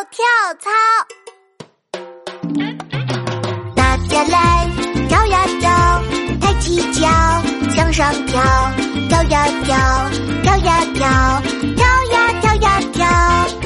跳操。大家来跳呀跳，抬起脚向上跳，跳呀跳，跳呀跳，跳呀跳呀跳。